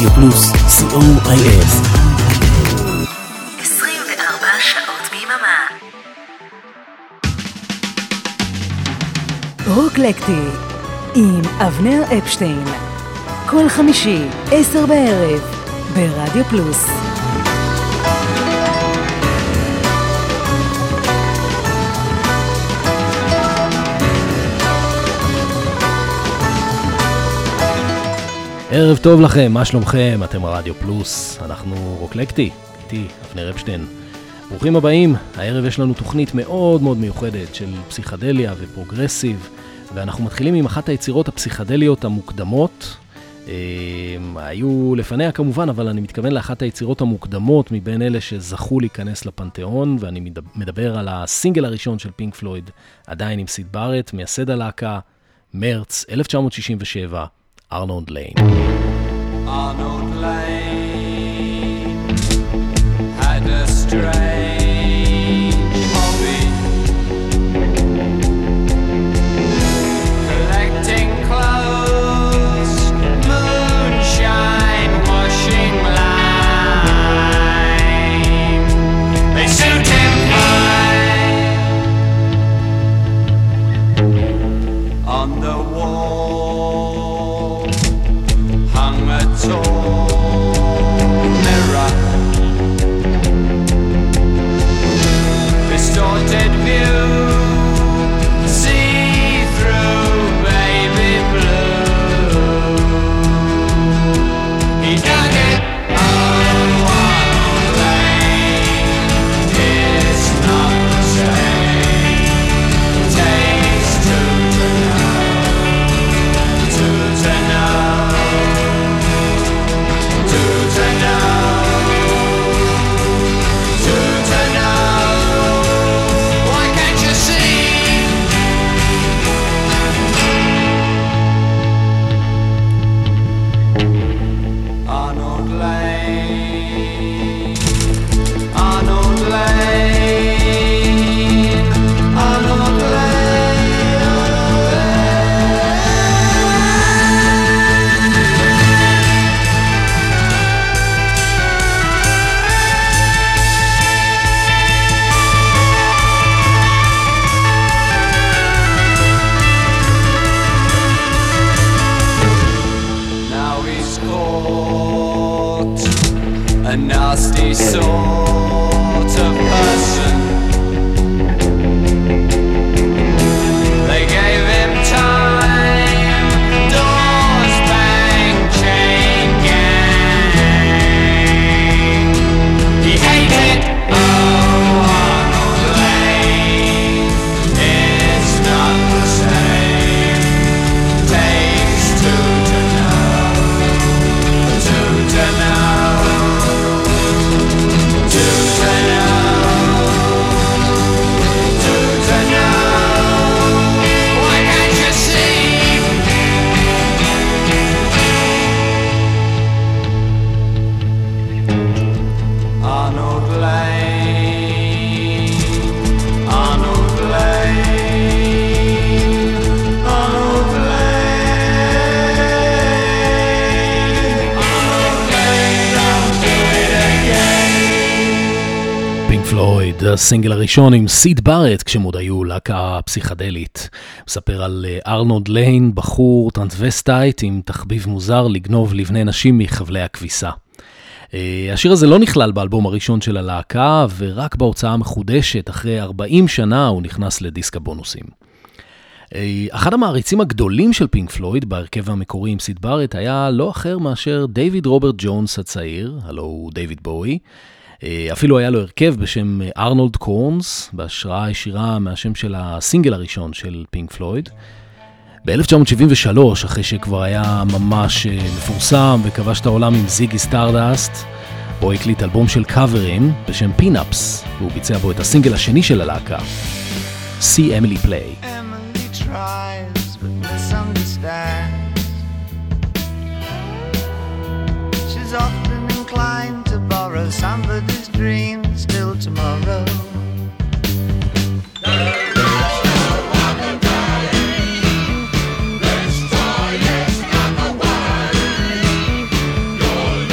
רדיו פלוס, COIF. 24 שעות ביממה. רוקלקטי עם אבנר אפשטיין, כל חמישי 10 בערב ברדיו פלוס. ערב טוב לכם, מה שלומכם? אתם רדיו פלוס, אנחנו רוקלקטי, איתי אבנר אפשטיין. ברוכים הבאים, הערב יש לנו תוכנית מאוד מאוד מיוחדת של פסיכדליה ופרוגרסיב, ואנחנו מתחילים עם אחת היצירות הפסיכדליות המוקדמות. היו לפניה כמובן, אבל אני מתכוון לאחת היצירות המוקדמות מבין אלה שזכו להיכנס לפנתיאון, ואני מדבר על הסינגל הראשון של פינק פלויד, עדיין עם סיד בארט, מייסד הלהקה, מרץ 1967, ארנולד ליין. Arnold Lane had a strange hobby, collecting clothes, moonshine, washing line. They suit him fine. On the wall hung a tall mirror, distorted view, see through baby blue. He dug it, oh, Arnold Lane, it's not the same. Takes two to know. A nasty sort of person. They gave him time, doors bang, chain gang. He hated, oh, Arnold Lane, it's not the same. Takes two to know, two to know. הסינגל הראשון עם סיד בארט, כשהם עוד היו להקה פסיכדלית. מספר על ארנולד ליין, בחור טרנסווסטייט עם תחביב מוזר לגנוב לבני נשים מחבלי הכביסה. השיר הזה לא נכלל באלבום הראשון של הלהקה, ורק בהוצאה המחודשת, אחרי 40 שנה, הוא נכנס לדיסק הבונוסים. אחד המעריצים הגדולים של פינק פלויד, בהרכב המקורי עם סיד בארט, היה לא אחר מאשר דיוויד רוברט ג'ונס הצעיר, הלו הוא דיוויד בואי. אפילו היה לו הרכב בשם ארנולד קורנס, בהשראה ישירה מהשם של הסינגל הראשון של פינק פלויד. ב-1973, אחרי שכבר היה ממש מפורסם וכבש את העולם עם זיגי סטארדאסט, בו הקליט אלבום של קאברים בשם פינאפס, והוא ביצע בו את הסינגל השני של הלהקה, See Emily Play. Emily tries but misunderstands. She's often inclined to borrow somebody's dreams till tomorrow. This toy is not the way. Your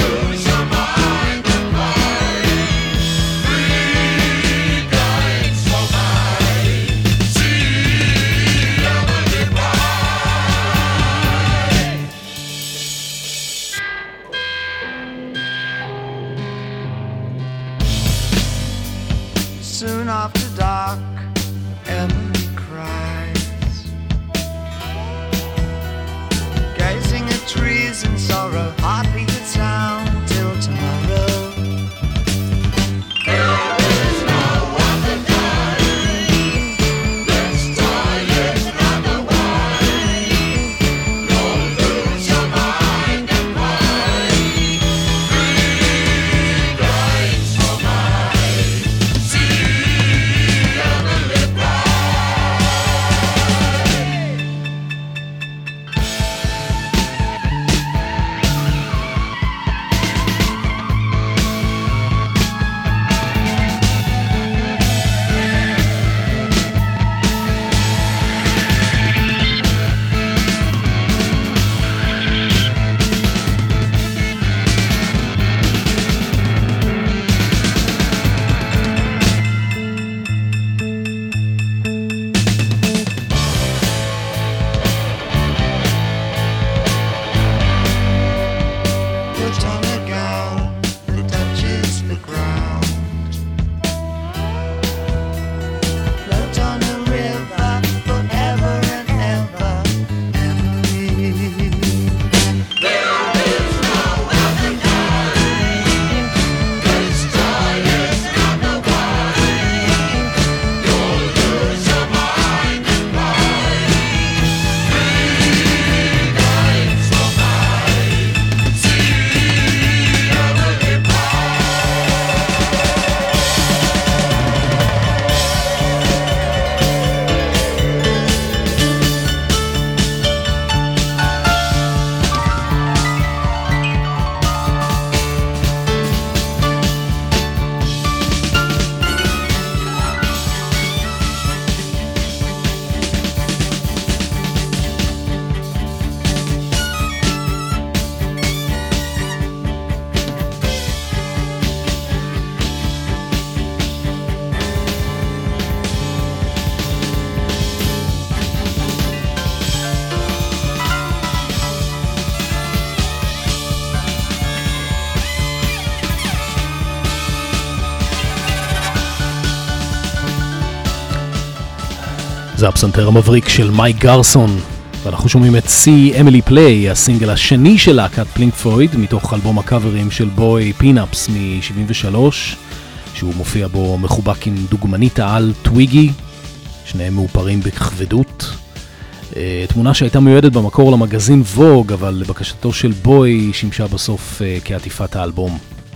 זה הפסנתר המבריק של מייק גרסון, ואנחנו שומעים את See Emily Play, הסינגל השני של להקת פינק פלויד, מתוך אלבום הקאברים של בוי פינאפס מ-73, שהוא מופיע בו מחובק עם דוגמנית העל טוויגי, שניהם מאופרים בכבדות. תמונה שהייתה מיועדת במקור למגזין ווג, אבל לבקשתו של בוי שימשה בסוף כעטיפת האלבום.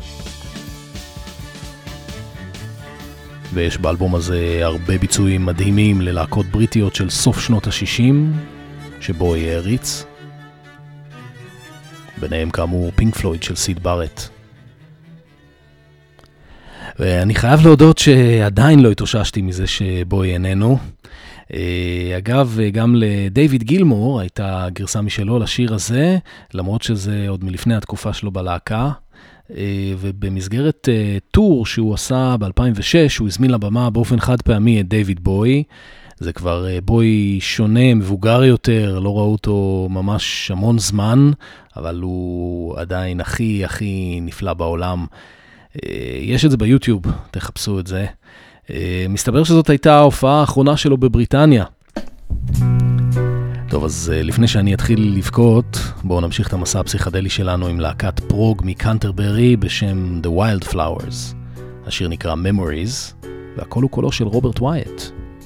ויש באלבום הזה הרבה ביצועים מדהימים ללהקות בריטיות של סוף שנות ה-60, שבו יהיה ריץ. ביניהם כאמור פינק פלויד של סיד בארט. ואני חייב להודות שעדיין לא התאוששתי מזה שבוי איננו. אגב, גם לדייוויד גילמור הייתה גרסה משלו לשיר הזה, למרות שזה עוד מלפני התקופה שלו בלהקה. ובמסגרת טור שהוא עשה ב-2006, הוא הזמין לבמה באופן חד פעמי את דיוויד בוי. זה כבר בוי שונה, מבוגר יותר, לא ראו אותו ממש המון זמן, אבל הוא עדיין הכי נפלא בעולם. יש את זה ביוטיוב, תחפשו את זה. מסתבר שזאת הייתה ההופעה האחרונה שלו בבריטניה. טוב, אז לפני שאני אתחיל לבכות, בואו נמשיך את המסע הפסיכדלי שלנו עם להקת פרוג מקנטרברי בשם The Wildflowers. השיר נקרא Memories, והכל הוא קולו של רוברט ווייט.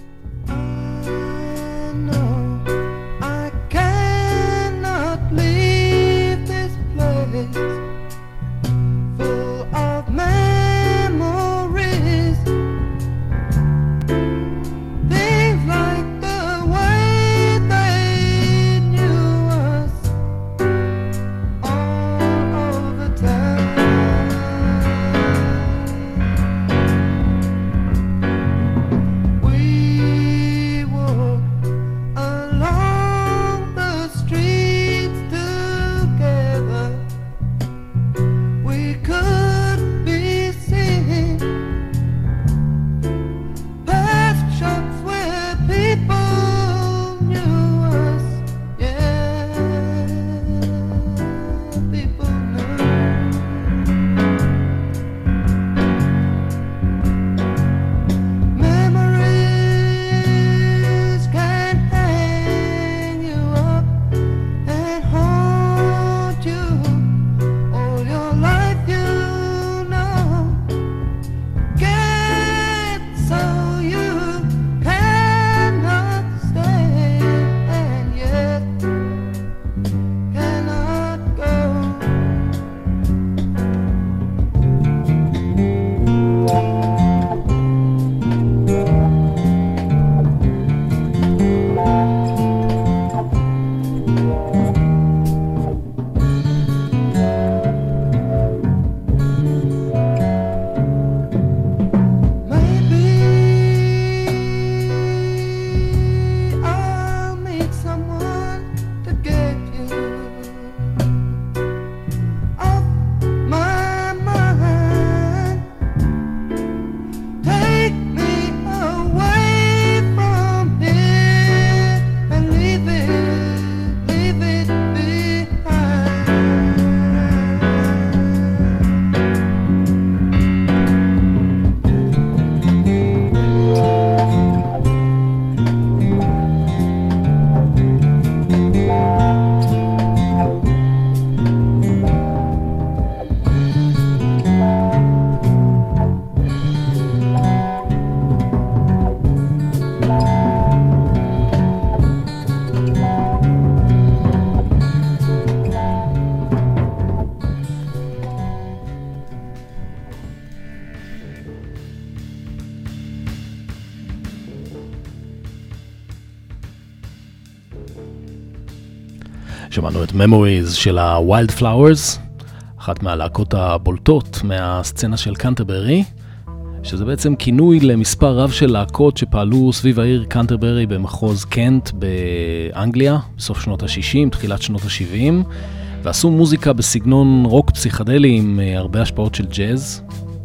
שמענו את Memories של ה-Wildflowers, אחת מהלהקות הבולטות מהסצנה של קנטרברי, שזה בעצם כינוי למספר רב של להקות שפעלו סביב העיר קנטרברי במחוז קנט באנגליה, בסוף שנות ה-60, תחילת שנות ה-70, ועשו מוזיקה בסגנון רוק פסיכדלי עם הרבה השפעות של ג'אז.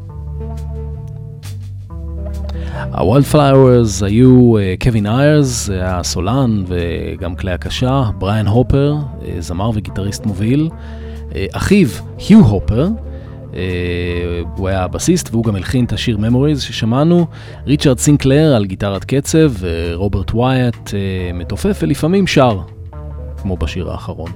ה-Wildflowers היו קווין איירס, הסולן וגם כלי הקשה, בריאן הופר, זמר וגיטריסט מוביל, אחיו היו הופר, הוא היה הבסיסט והוא גם הלחין את השיר Memories ששמענו. ריצ'רד סינקלר על גיטרת קצב, ורוברט ווייט מתופף ולפעמים שר, כמו בשיר האחרון.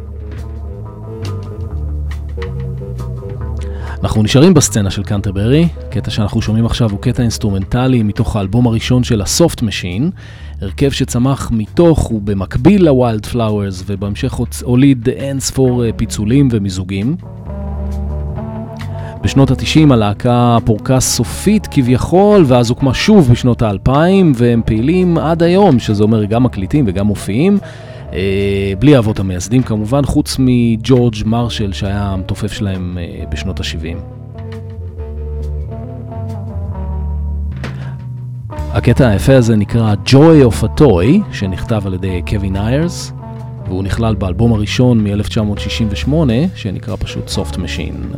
אנחנו נשארים בסצנה של קנטרברי. קטע שאנחנו שומעים עכשיו הוא קטע אינסטרומנטלי מתוך האלבום הראשון של הסופט משין, הרכב שצמח מתוך ובמקביל לווילד פלאוורס, ובהמשך הוליד אין ספור פיצולים ומיזוגים. בשנות ה-90 הלהקה פורקה סופית כביכול, ואז הוקמה שוב בשנות ה-2000, והם פעילים עד היום, שזה אומר גם מקליטים וגם מופיעים, בלי אבות המייסדים כמובן, חוץ מג'ורג' מרשל שהיה המתופף שלהם בשנות ה-70. הקטע היפה הזה נקרא Joy of a Toy, שנכתב על ידי קווין איירס, והוא נכלל באלבום הראשון מ-1968, שנקרא פשוט Soft Machine.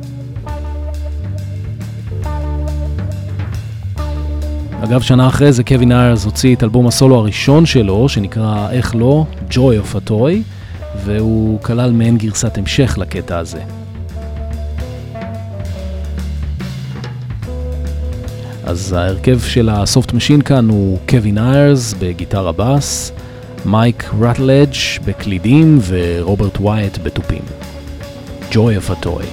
אגב, שנה אחרי זה קווין איירס הוציא את אלבום הסולו הראשון שלו, שנקרא איך לא, Joy of a Toy, והוא כלל מעין גרסת המשך לקטע הזה. אז ההרכב של הסופט משין כאן הוא קווין איירס בגיטרה בס, מייק רטלג' בקלידים ורוברט ווייט בטופים. Joy of a Toy.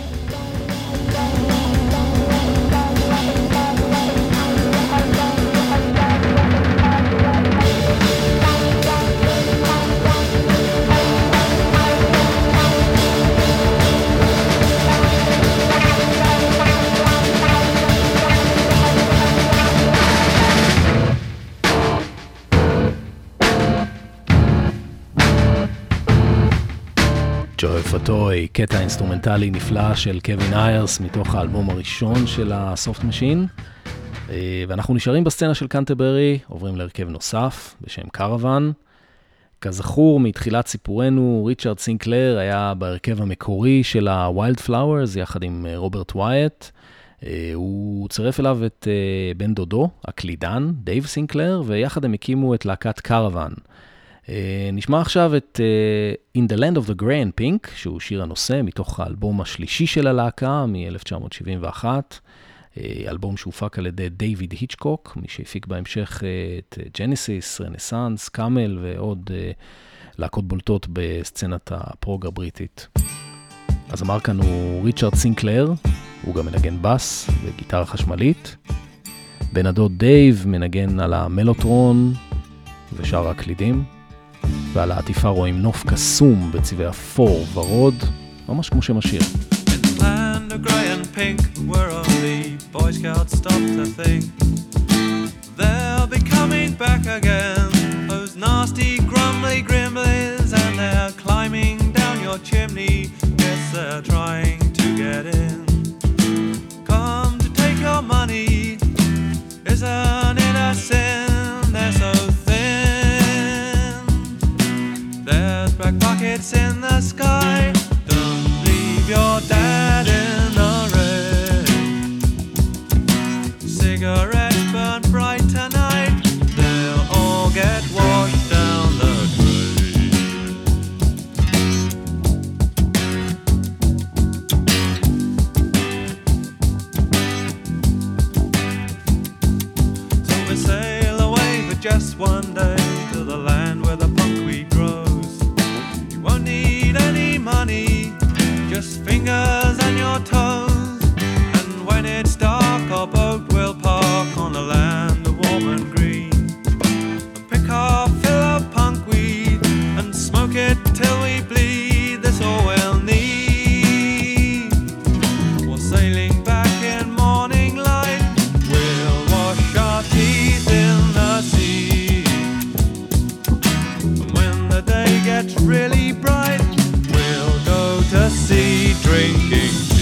פוטוי, קטע אינסטרומנטלי נפלא של קווין איירס מתוך האלבום הראשון של הסופט משין. ואנחנו נשארים בסצנה של קנטרברי, עוברים להרכב נוסף בשם קרוון. כזכור, מתחילת סיפורנו, ריצ'רד סינקלר היה בהרכב המקורי של הווילד פלאוורס יחד עם רוברט ווייט. הוא צירף אליו את בן דודו, הקלידן, דייב סינקלר, ויחד הם הקימו את להקת קרוון. נשמע עכשיו את In the Land of the Grey and Pink, שהוא שיר הנושא מתוך האלבום השלישי של הלהקה מ-1971, אלבום שהופק על ידי דיוויד היצ'קוק, מי שהפיק בהמשך את ג'נסיס, רנסנס, קאמל ועוד להקות בולטות בסצנת הפרוג הבריטית. אז אמר כאן הוא ריצ'רד סינקלר, הוא גם מנגן בס וגיטרה חשמלית. בן הדוד דייב מנגן על המלוטרון ושאר הקלידים. ועל העטיפה רואים נוף קסום בצבעי אפור ורוד, ממש כמו שם השיר. In the land of grey and pink, where only Boy Scouts stop to think, they'll be coming back again, those nasty grumbly grimblies, and they're climbing down your chimney, yes they're trying to get in. Come to take your money, isn't it a sin? They're so there's black pockets in the sky. Don't leave your dad in the rain. Cigarettes burn bright tonight. They'll all get washed down the drain. So we sail away for just one day to the land where the punkweed grows. Won't need any money, just fingers and your toes. And when it's dark, our boat will park on the land of warm and green, and pick our fill of punkweed and smoke it till we bleed. That's all we'll need. We're sailing back in morning light, we'll wash our teeth in the sea. And when the day gets really bright, we'll go to sea drinking tea.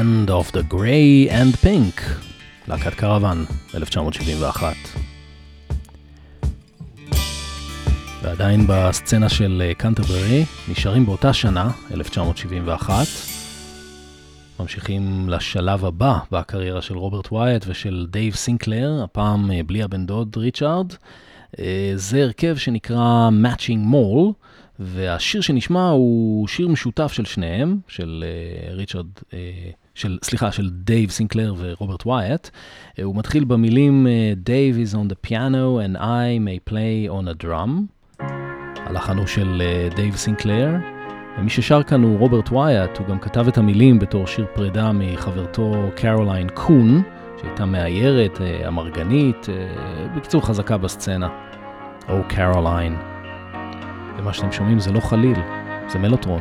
Land of the Grey and Pink, להקת קרוון, 1971. ועדיין בסצנה של קנטרברי, נשארים באותה שנה, 1971, ממשיכים לשלב הבא בקריירה של רוברט ווייט ושל דייב סינקלר, הפעם בלי הבן דוד ריצ'ארד. זה הרכב שנקרא Matching Mall, והשיר שנשמע הוא שיר משותף של שניהם, של דייב סינקלר ורוברט ווייט. הוא מתחיל במילים Dave is on the piano and I may play on a drum. הלחן הוא של דייב סינקלר, ומי ששר כאן הוא רוברט ווייט. הוא גם כתב את המילים בתור שיר פרידה מחברתו קרוליין קון, שהייתה מאיירת, אמרגנית, בקיצור חזקה בסצנה. או קרוליין. ומה שאתם שומעים זה לא חליל, זה מלוטרון.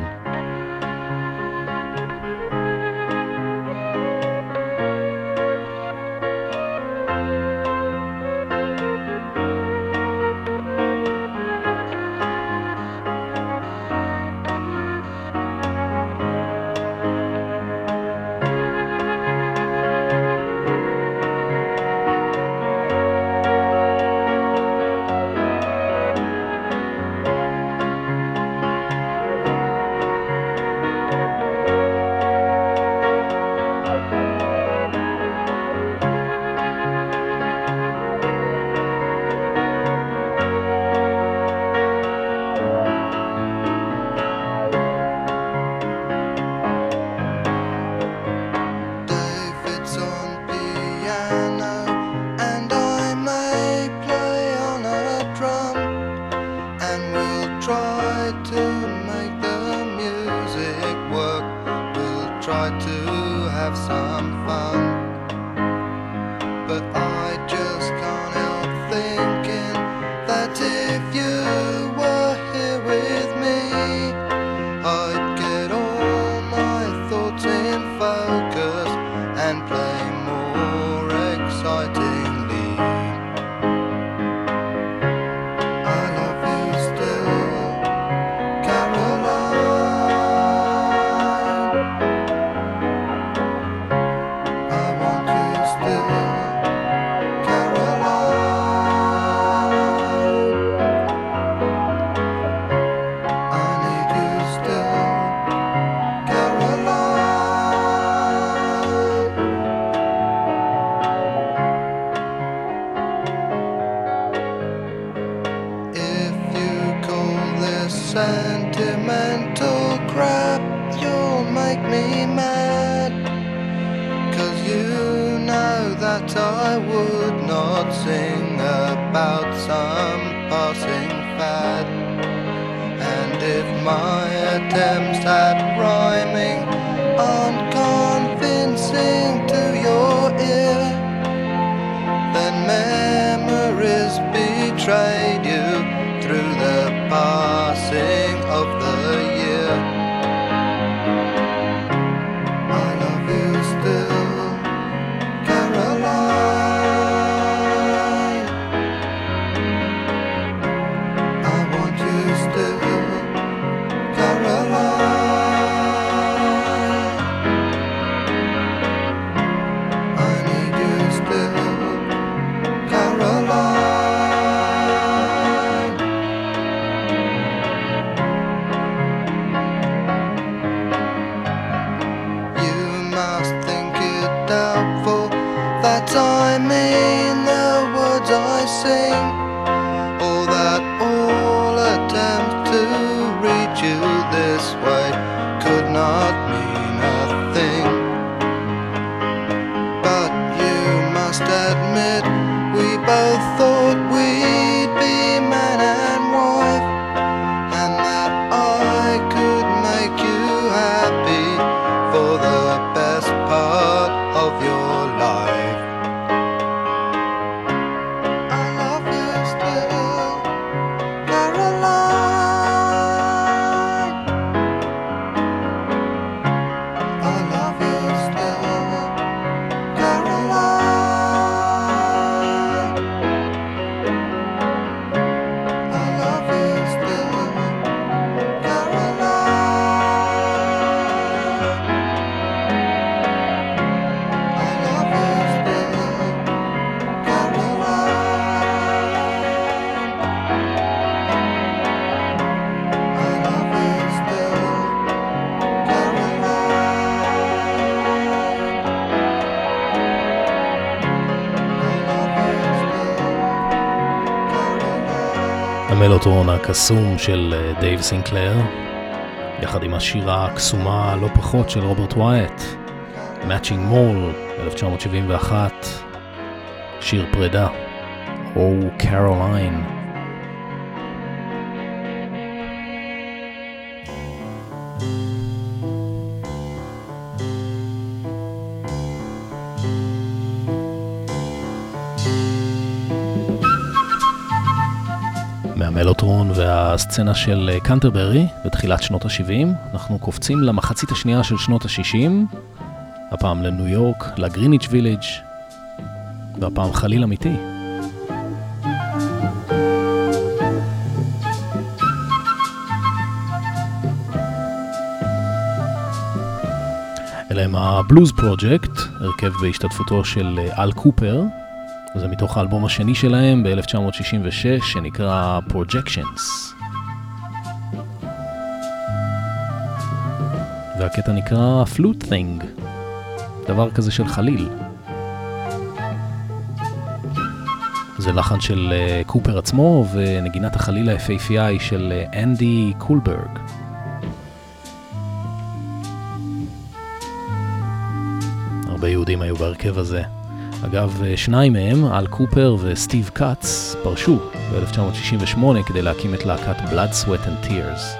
המלוטרון הקסום של דייב סינקלר, יחד עם השירה הקסומה הלא פחות של רוברט ווייט, Matching Mole, 1971, שיר פרידה, Oh Caroline. מהמלוטרון והסצנה של קנטרברי בתחילת שנות ה-70, אנחנו קופצים למחצית השנייה של שנות ה-60, הפעם לניו יורק, לגריניץ' ויליג', והפעם חליל אמיתי. אלה הם הבלוז פרוג'קט, הרכב בהשתתפותו של אל קופר, זה מתוך האלבום השני שלהם ב-1966 שנקרא Projections. והקטע נקרא Flute Thing, דבר כזה של חליל. זה לחן של קופר עצמו ונגינת החליל היפהפייה היא של אנדי קולברג. הרבה יהודים היו בהרכב הזה. אגב, שניים מהם, אל קופר וסטיב קאץ, פרשו ב-1968 כדי להקים את להקת Blood, Sweat and Tears.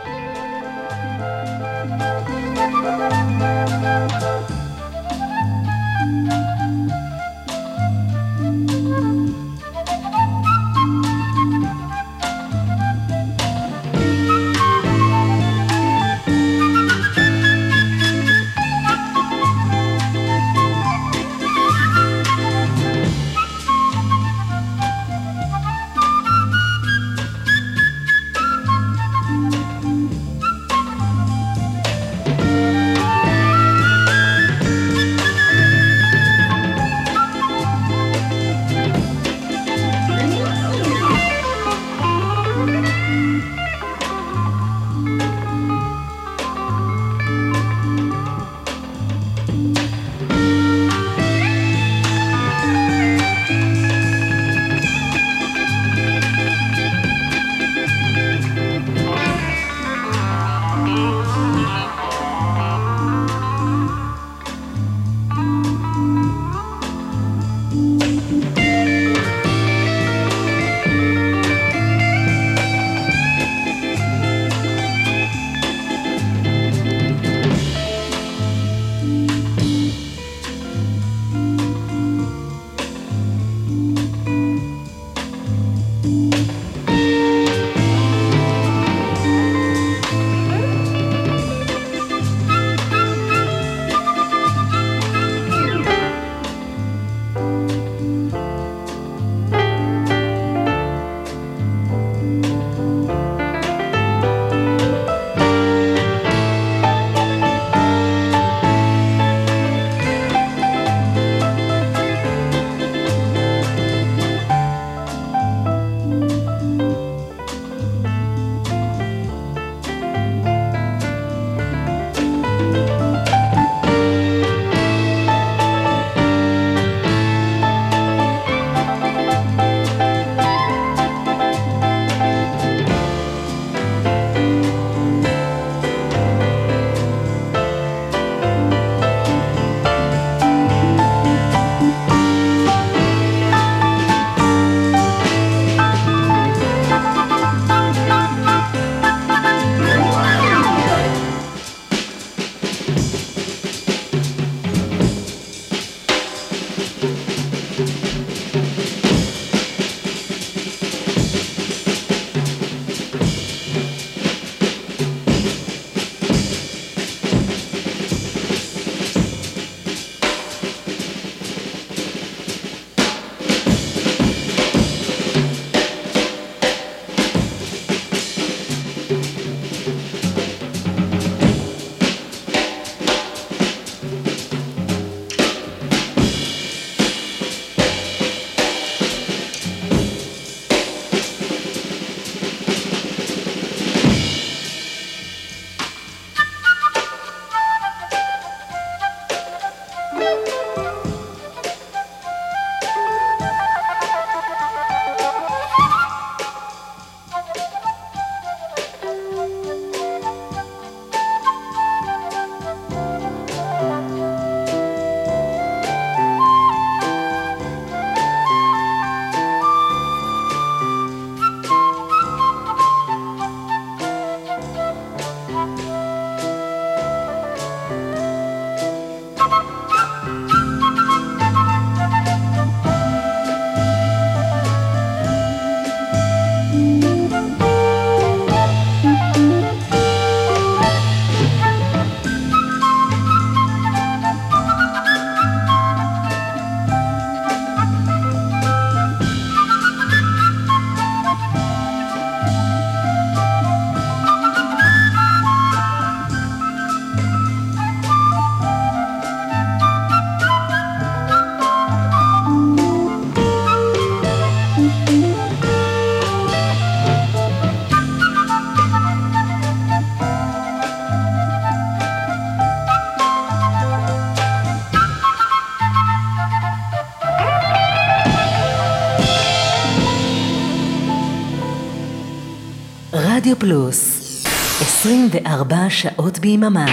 רדיו פלוס 24 שעות ביממה.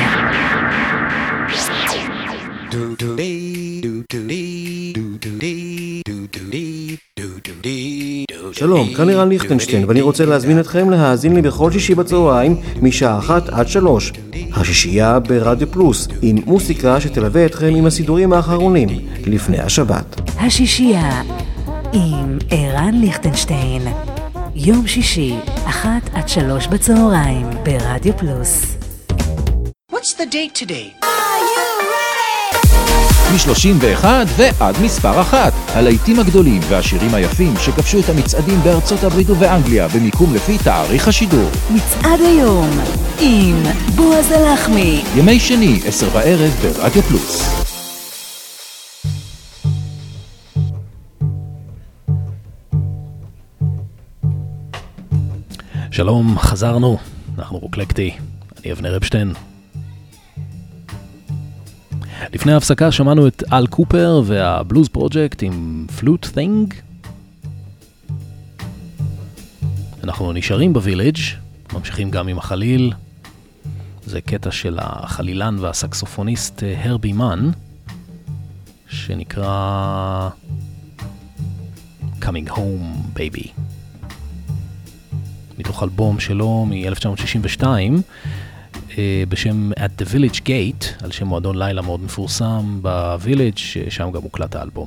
שלום, כאן לירן ליכטנשטיין, ואני רוצה להזמין אתכם להאזין לי בכל שישי בצהריים משעה 1 עד 3. השישייה ברדיו פלוס, עם מוסיקה שתלווה אתכם עם הסידורים האחרונים לפני השבת. השישייה עם ערן ליכטנשטיין, יום שישי 1 עד 3 בצהריים ברדיו פלוס. What's the date today? מ-31 ועד מספר 1. הלהיטים הגדולים והשירים היפים שכבשו את המצעדים בארצות הברית ובאנגליה במיקום לפי תאריך השידור. מצעד היום עם בועז הלחמי. ימי שני, 10 בערב ברדיו פלוס. שלום, חזרנו. אנחנו רוקלקטי. אני אבנר אפשטיין. לפני ההפסקה שמענו את אל קופר והבלוז פרוג'קט עם פלוט ת'ינג. אנחנו נשארים בוויליג', ממשיכים גם עם החליל. זה קטע של החלילן והסקסופוניסט הרבי מן, שנקרא Coming Home Baby. מתוך אלבום שלו מ-1962, בשם At the Village Gate, על שם מועדון לילה מאוד מפורסם בוויליג', שם גם הוקלט האלבום.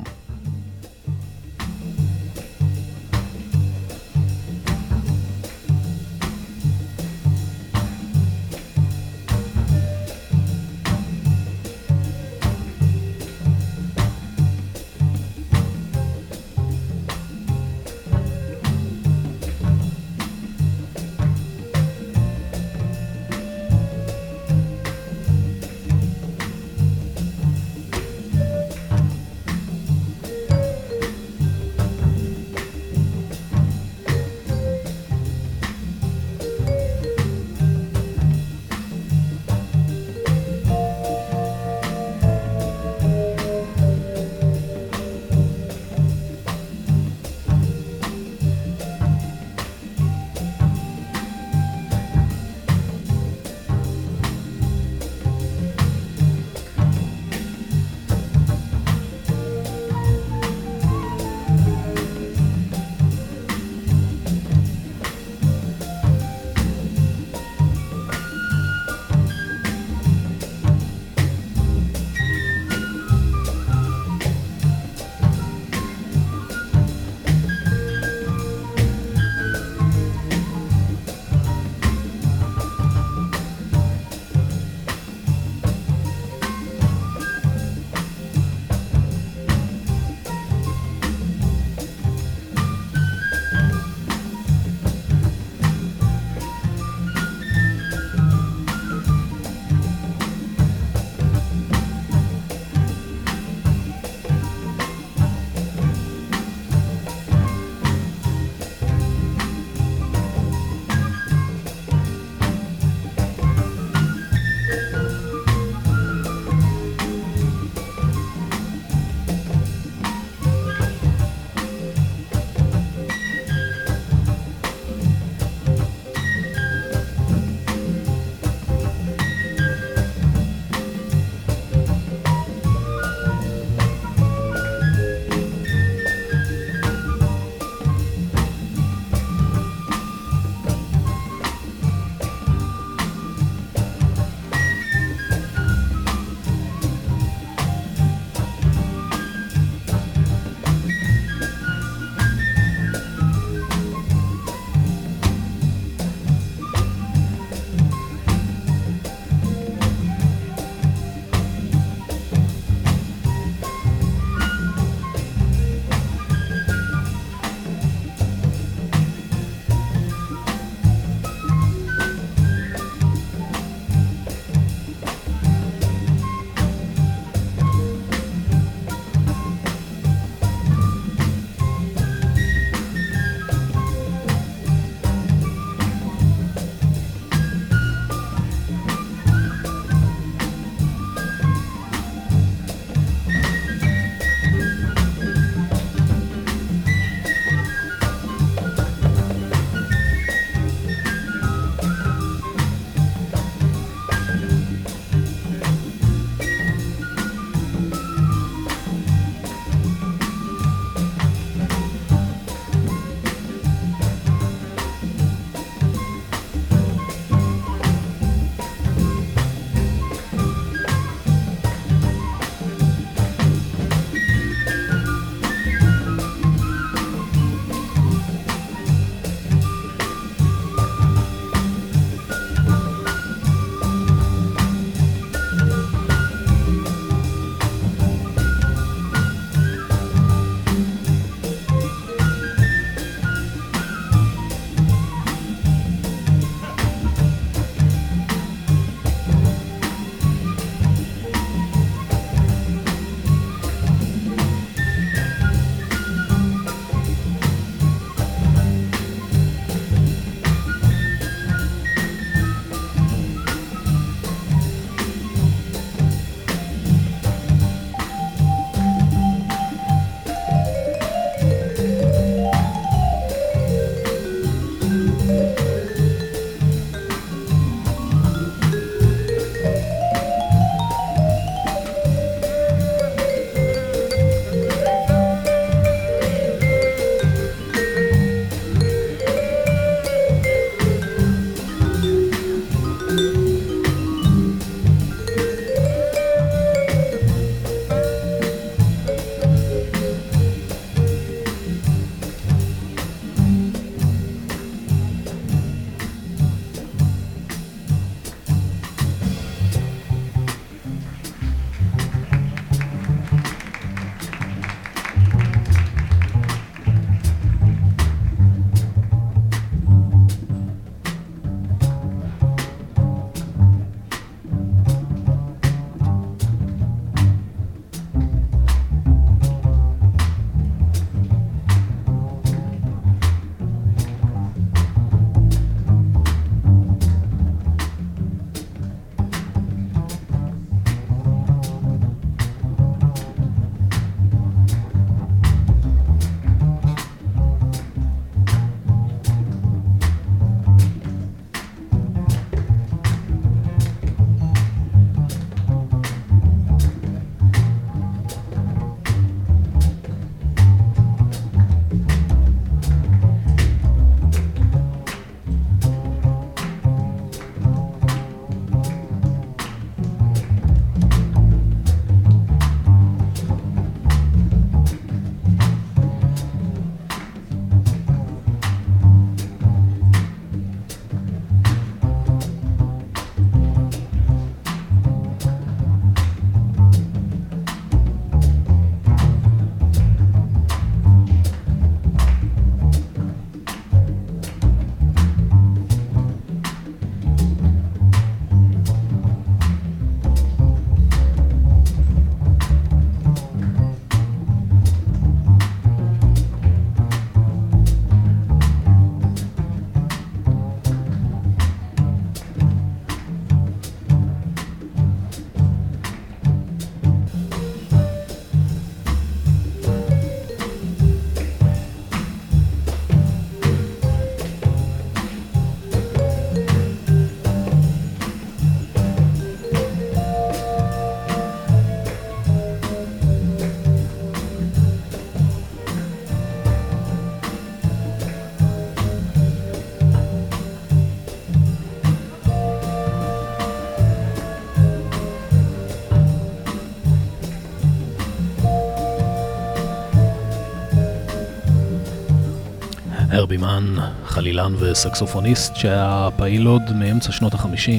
בימן, חלילן וסקסופוניסט שהיה פעיל עוד מאמצע שנות ה-50.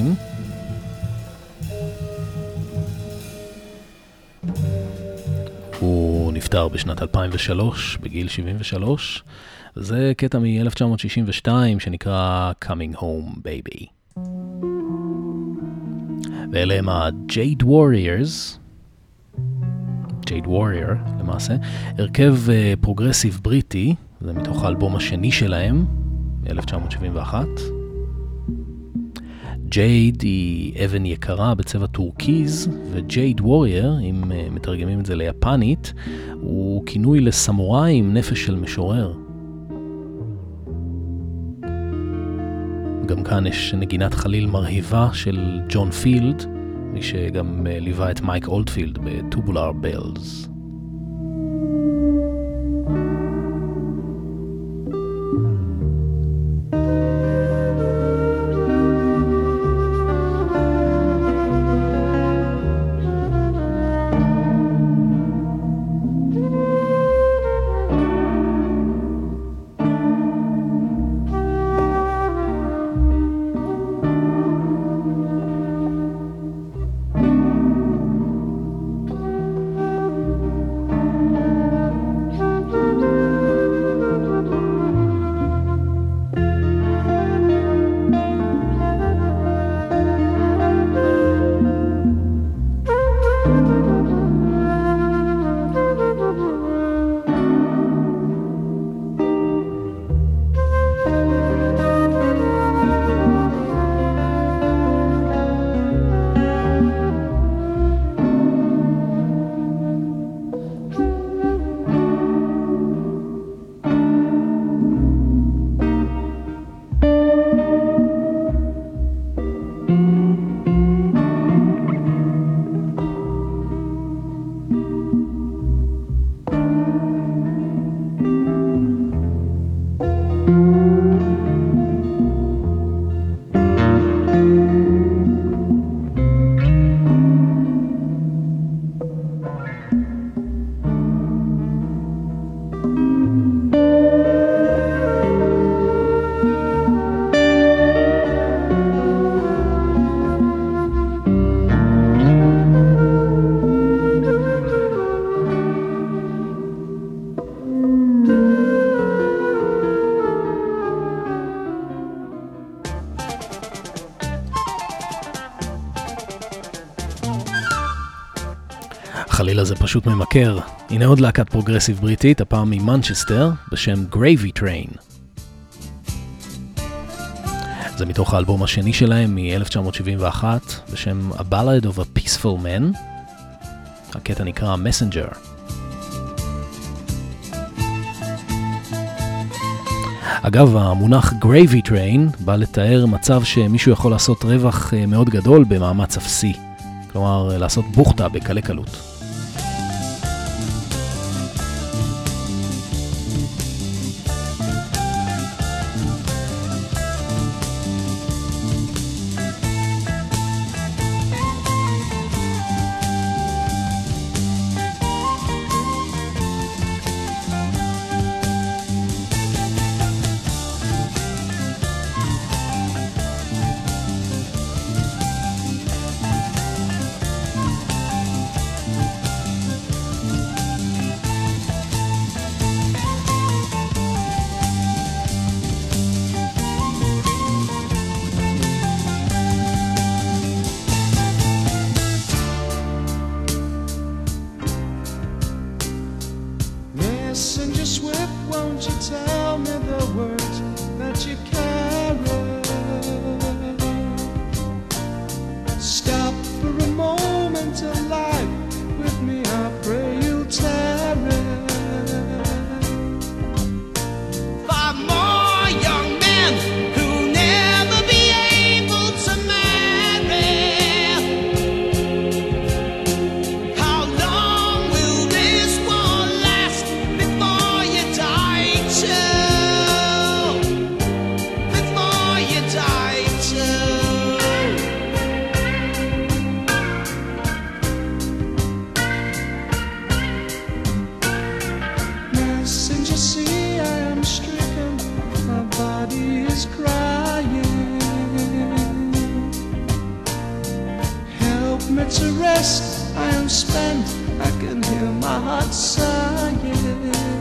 הוא נפטר בשנת 2003 בגיל 73. זה קטע מ-1962 שנקרא Coming Home Baby. ואלה הם ה-Jade Warriors. Jade Warrior למעשה, הרכב פרוגרסיב בריטי, זה מתוך האלבום השני שלהם, מ-1971. ג'ייד היא אבן יקרה בצבע טורקיז, וג'ייד וורייר, אם מתרגמים את זה ליפנית, הוא כינוי לסמוראי עם נפש של משורר. גם כאן יש נגינת חליל מרהיבה של ג'ון פילד, מי שגם ליווה את מייק אולדפילד בטובולר בלז. החליל הזה פשוט ממכר. הנה עוד להקת פרוגרסיב בריטית, הפעם ממנצ'סטר, בשם Gravy Train. זה מתוך האלבום השני שלהם מ-1971, בשם A Ballad of a Peaceful Man. הקטע נקרא Messenger. אגב, המונח Gravy Train בא לתאר מצב שמישהו יכול לעשות רווח מאוד גדול במאמץ אפסי. כלומר, לעשות בוכתה בקלי קלות. nights of rest I am spent, I can hear my heart sighing.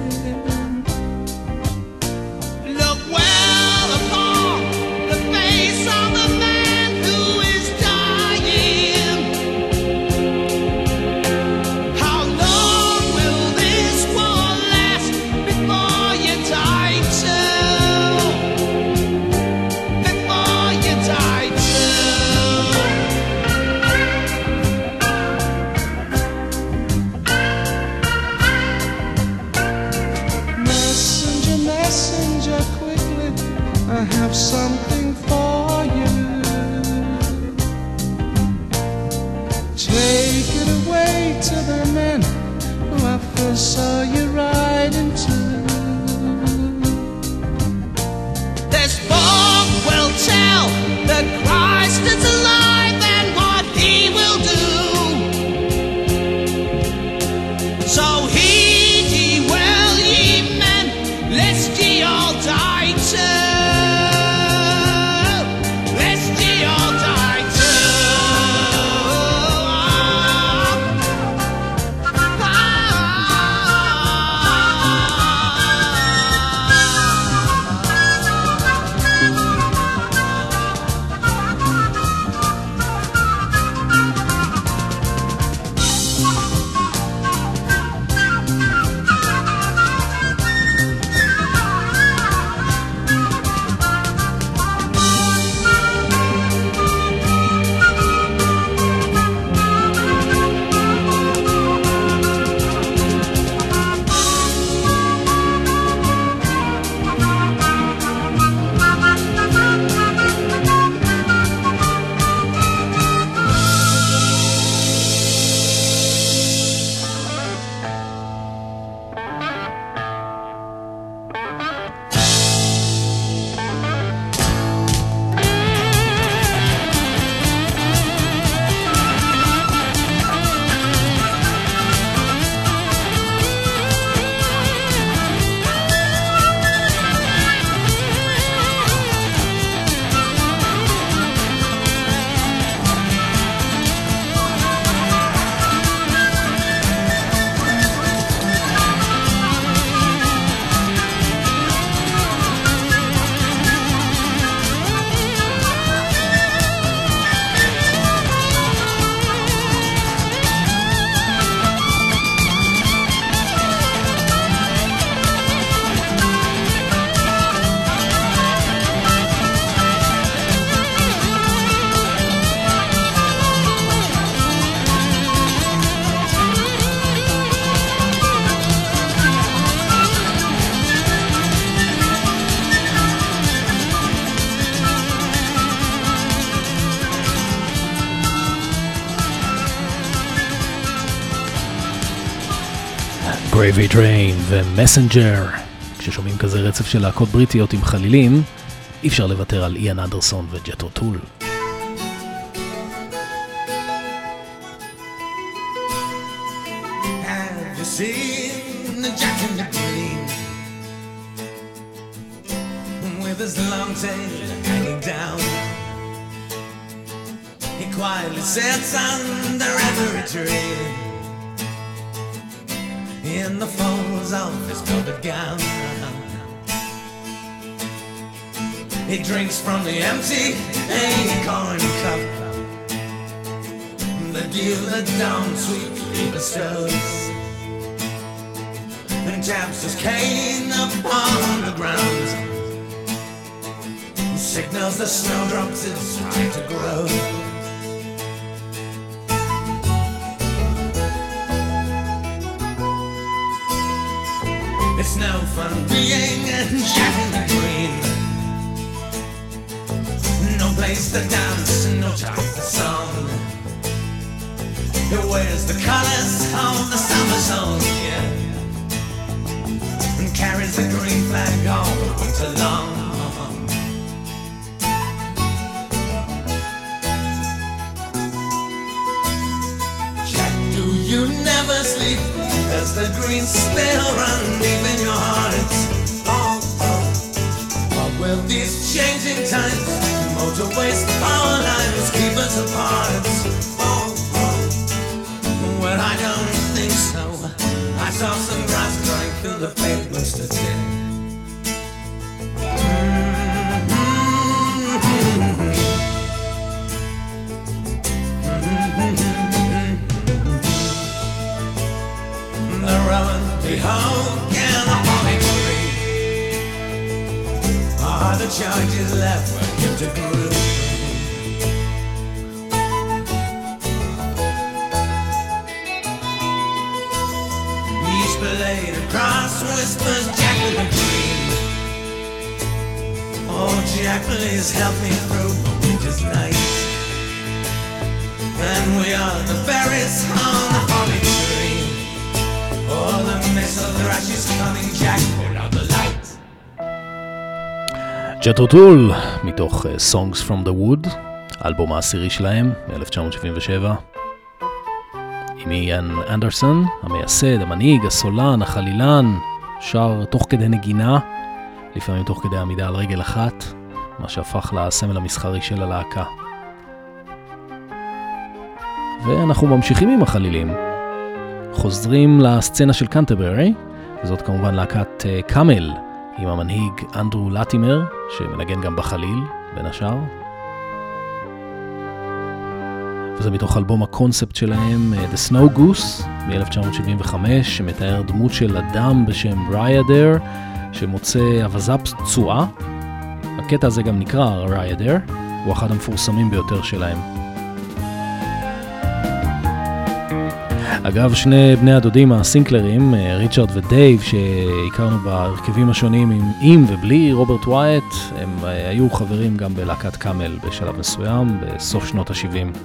Look well upon the face of the man who is dying. How long will this war last before you die too? Before you die too. Messenger, messenger, quickly, I have something for you. Take it away to the men who I first saw you ride into. This book will tell that Christ is alive and what he will do. So heed ye well, ye men, lest ye all die too. Lest ye all die Gravy Train ומסנג'ר. כששומעים כזה רצף של להקות בריטיות עם חלילים, אי אפשר לוותר על איאן אנדרסון וג'ת'רו טול. Have you seen the Jack in the Green with his long tail hanging down? He quietly sits under every tree in the folds of his velvet gown. He drinks from the empty acorn cup, the dew that down sweetly bestows, and taps his cane upon the ground, signals the snowdrops it's time to grow. It's no fun being a Jack in the Green. No place to dance, no time for song. He wears the colors of the summer song, yeah, and carries the green flag all winter long. Jack, do you never sleep? As the green spell run deep in your heart. Oh, oh. What will these changing times, motorways, our lives keep us apart? Oh, oh. till the pavements to tin. The rowan, the oak, and the holly tree are the charges left for him to groove. Each blade across whispers Jack with a dream. Oh Jack, please help me through the winter's night. And we are the berries on the holly tree. Oh, the mist of thrush is coming, Jack, put out the light. ג'ת'רו טול, מתוך Songs from the Wood, האלבום העשירי שלהם, מ-1977. עם איאן אנדרסון, המייסד, המנהיג, הסולן, החלילן, שר תוך כדי נגינה, לפעמים תוך כדי עמידה על רגל אחת, מה שהפך לסמל המסחרי של הלהקה. ואנחנו ממשיכים עם החלילים. חוזרים לסצנה של קנטרברי, וזאת כמובן להקת קאמל, עם המנהיג אנדרו לטימר, שמנגן גם בחליל, בין השאר. וזה מתוך אלבום הקונספט שלהם, The Snow Goose, מ-1975, שמתאר דמות של אדם בשם ריידר, שמוצא אבזה פצועה. הקטע הזה גם נקרא ריידר, הוא אחד המפורסמים ביותר שלהם. אגב, שני בני הדודים הסינקלרים, ריצ'רד ודייב, שהכרנו בהרכבים השונים עם ובלי רוברט ווייט, הם היו חברים גם בלהקת קאמל בשלב מסוים, בסוף שנות ה-70.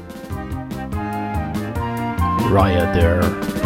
ריידר.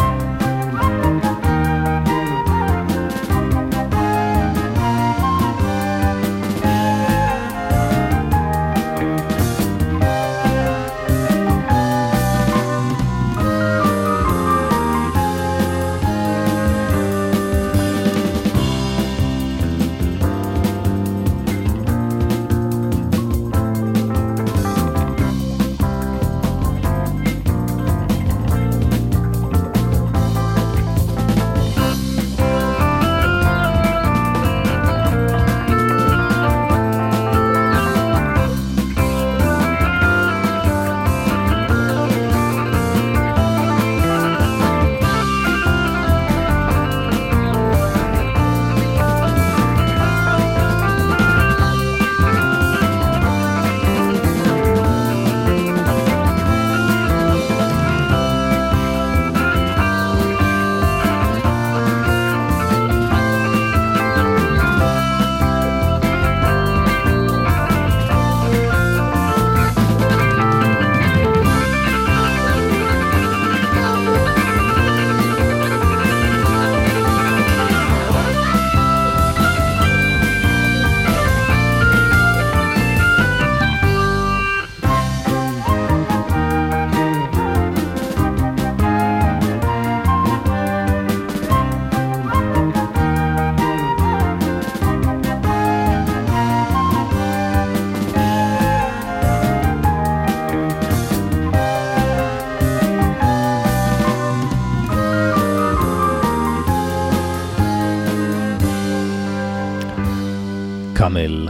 קאמל,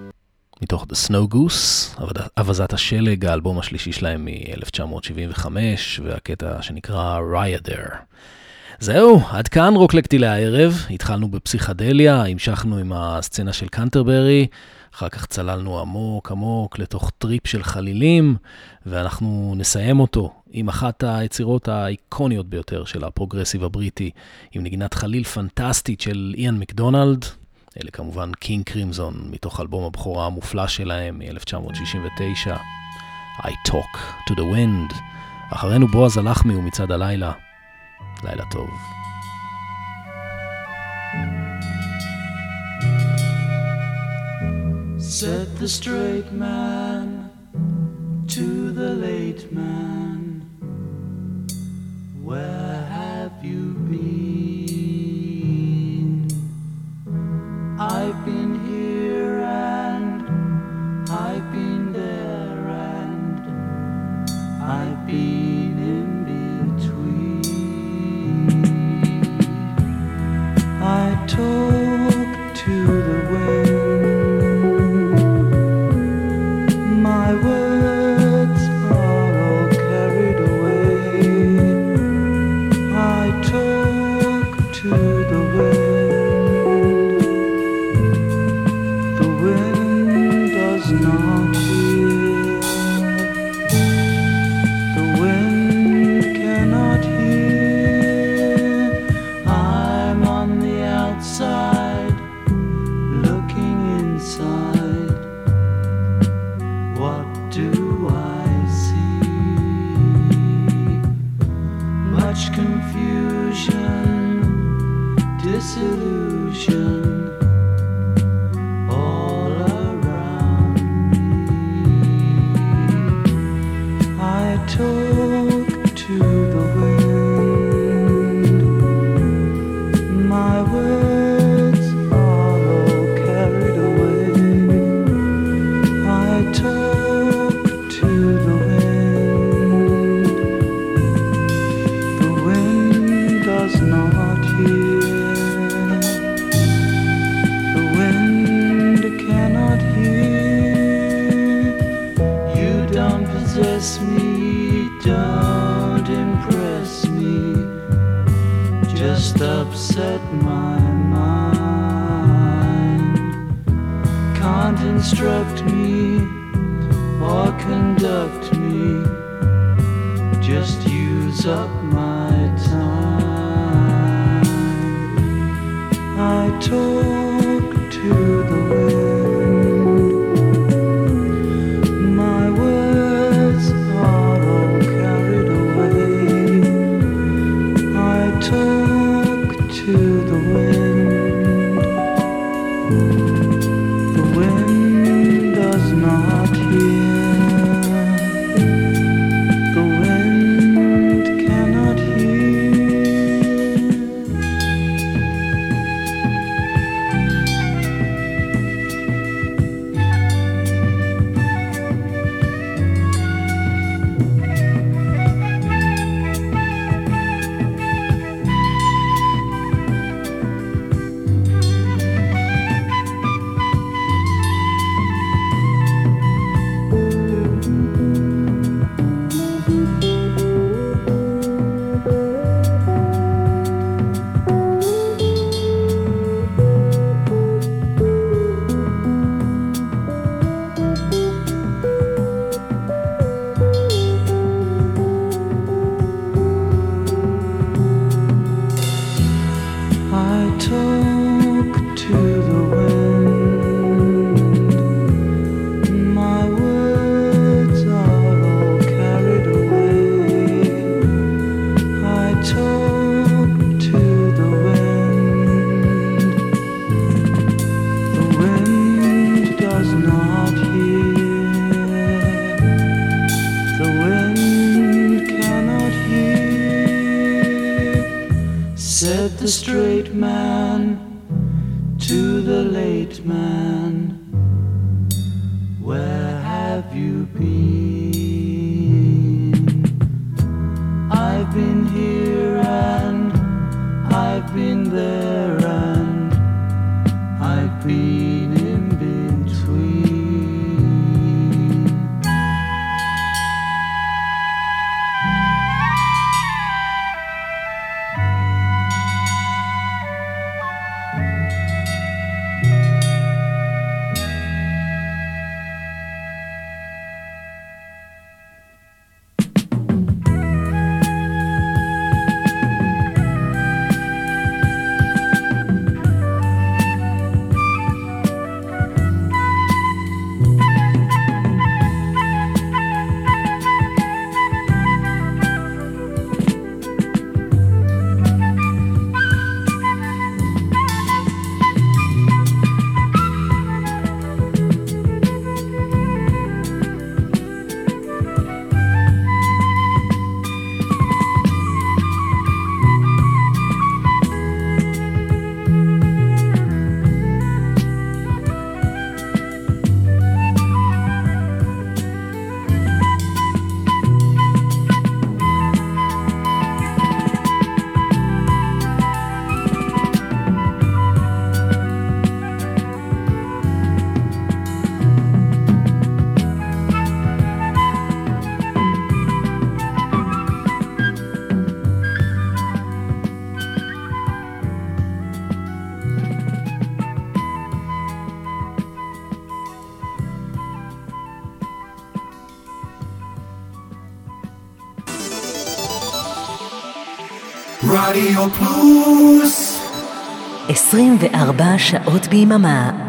מתוך The Snow Goose, אבזת השלג, האלבום השלישי שלהם מ-1975, והקטע שנקרא ריידר. זהו, עד כאן רוקלקטי לערב. התחלנו בפסיכדליה, המשכנו עם הסצנה של קנטרברי, אחר כך צללנו עמוק עמוק לתוך טריפ של חלילים, ואנחנו נסיים אותו עם אחת היצירות האיקוניות ביותר של הפרוגרסיב הבריטי, עם נגינת חליל פנטסטית של איאן מקדונלד. אלה כמובן קינג קרימזון, מתוך אלבום הבכורה המופלא שלהם מ-1969, I Talk to the Wind. אחרינו בועז הלחמי ומצעד הלילה. לילה טוב. Said the straight man to the late man, where have you been? I've been here and I've been there and I've been in between. My words are all carried away. I talk to the wind. The wind does not hear. The wind cannot hear. I'm on the outside, looking inside. What do I see? Much confusion, disillusion, all around me. I talk to the wind. My words are all carried away. I talk to the wind. The wind does not hear. The wind cannot hear. You don't possess me, don't impress me, just upset my mind. Can't instruct me or conduct me, just use up my time. I talk to the wind. My words are all carried away. I talk to the wind. The wind does not hear. The wind cannot hear. I talk to the wind. My words are all carried away. I talk to the wind. The wind does not hear. The wind cannot hear. Said the straight man to the late man, where have you been? I've been here and I've been there and I've been in between. רדיו פלוס 24 שעות ביממה.